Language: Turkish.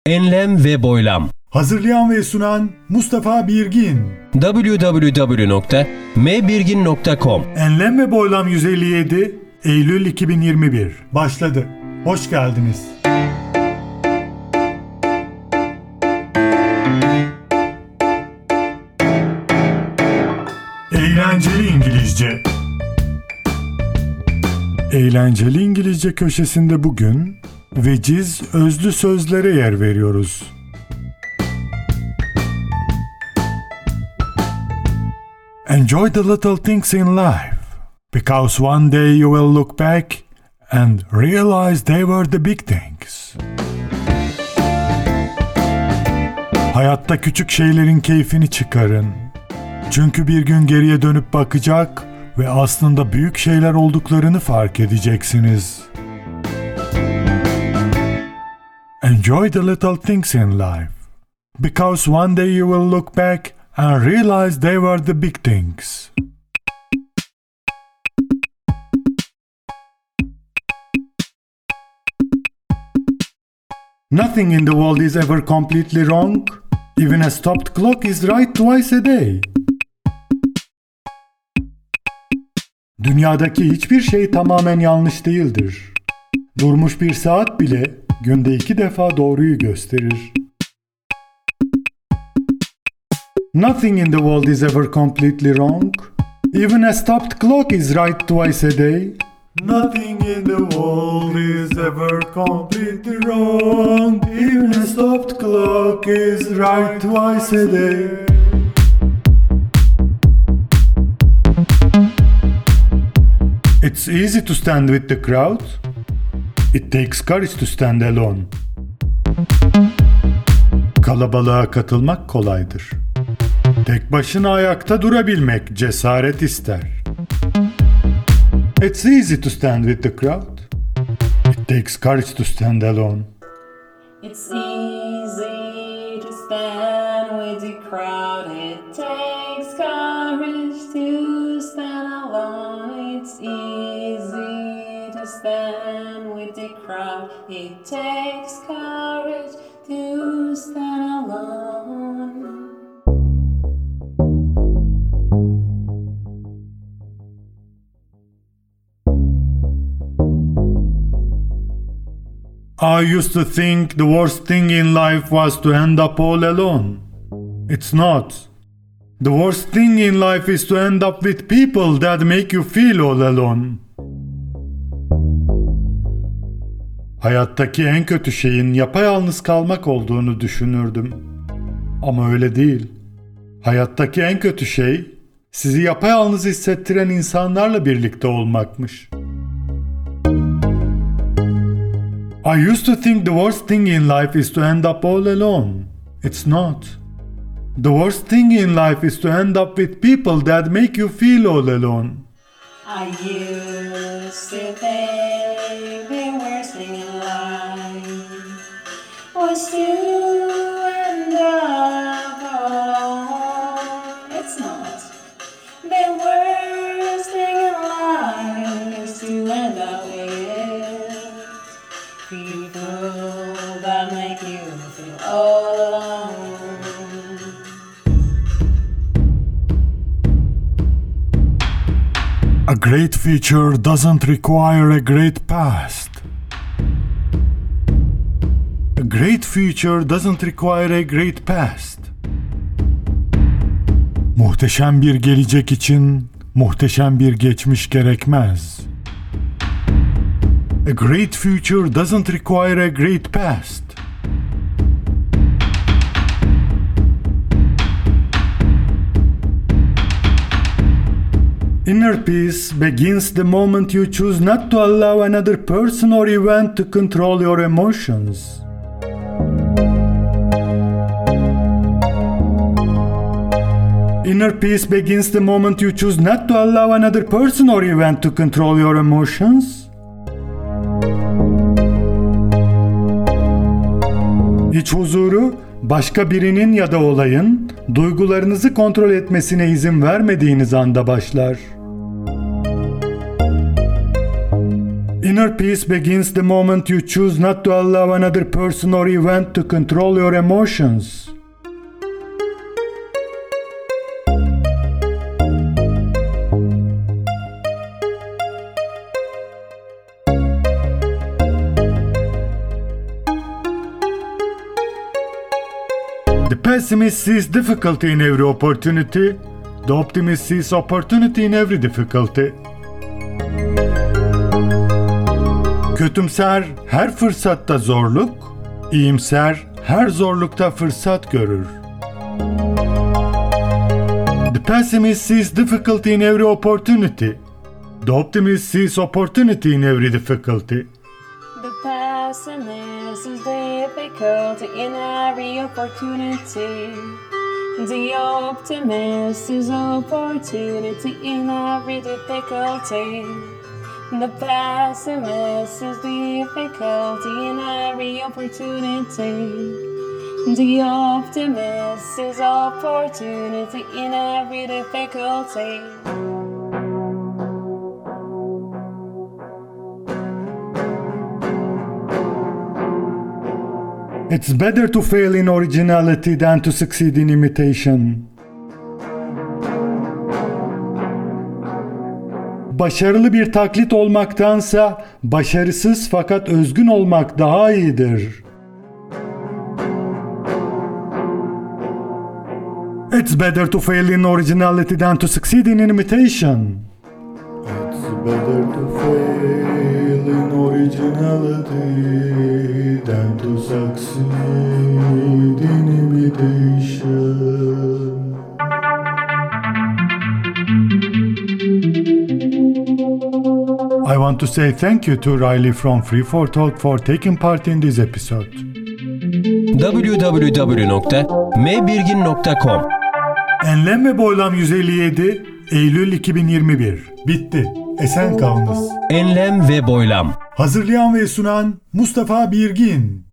Enlem ve boylam. Hazırlayan ve sunan Mustafa Birgin. www.mbirgin.com. Enlem ve Boylam 157 Eylül 2021 başladı. Hoş geldiniz. Eğlenceli İngilizce. Eğlenceli İngilizce köşesinde bugün veciz özlü sözlere yer veriyoruz. Enjoy the little things in life, because one day you will look back and realize they were the big things. Hayatta küçük şeylerin keyfini çıkarın. Çünkü bir gün geriye dönüp bakacak ve aslında büyük şeyler olduklarını fark edeceksiniz. Enjoy the little things in life, because one day you will look back and realize they were the big things. Nothing in the world is ever completely wrong. Even a stopped clock is right twice a day. Dünyadaki hiçbir şey tamamen yanlış değildir. Durmuş bir saat bile günde 2 defa doğruyu gösterir. Nothing in the world is ever completely wrong. Even a stopped clock is right twice a day. Nothing in the world is ever completely wrong. Even a stopped clock is right twice a day. It's easy to stand with the crowd. It takes courage to stand alone. Kalabalığa katılmak kolaydır. Tek başına ayakta durabilmek cesaret ister. It's easy to stand with the crowd. It takes courage to stand alone. It's easy to stand with the crowd. It takes courage to stand alone. It's easy to stand with the crowd. It takes courage to stand alone. I used to think the worst thing in life was to end up all alone. It's not. The worst thing in life is to end up with people that make you feel all alone. Hayattaki en kötü şeyin yapayalnız kalmak olduğunu düşünürdüm. Ama öyle değil. Hayattaki en kötü şey sizi yapayalnız hissettiren insanlarla birlikte olmakmış. I used to think the worst thing in life is to end up all alone. It's not. The worst thing in life is to end up with people that make you feel all alone. I used to think the worst thing in life was to end up alone. It's not. The worst thing in life is to end up with people that make you feel all alone. A great future doesn't require a great past. A great future doesn't require a great past. Muhteşem bir gelecek için muhteşem bir geçmiş gerekmez. A great future doesn't require a great past. Inner peace begins the moment you choose not to allow another person or event to control your emotions. Inner peace begins the moment you choose not to allow another person or event to control your emotions. İç huzuru, başka birinin ya da olayın duygularınızı kontrol etmesine izin vermediğiniz anda başlar. Inner peace begins the moment you choose not to allow another person or event to control your emotions. The pessimist sees difficulty in every opportunity. The optimist sees opportunity in every difficulty. Kötümser her fırsatta zorluk, iyimser her zorlukta fırsat görür. The pessimist sees difficulty in every opportunity. The optimist sees opportunity in every difficulty. The pessimist is difficulty in every opportunity. The optimist is opportunity in every difficulty. The pessimist is difficulty in every opportunity. The optimist is opportunity in every difficulty. It's better to fail in originality than to succeed in imitation. Başarılı bir taklit olmaktansa başarısız fakat özgün olmak daha iyidir. It's better to fail in originality than to succeed in imitation. It's better to fail in originality than to succeed in imitation. I want to say thank you to Riley from Free4Talk for taking part in this episode. www.mbirgin.com Enlem ve Boylam 157 Eylül 2021 Bitti. Esen kalınız. Enlem ve Boylam. Hazırlayan ve sunan Mustafa Birgin.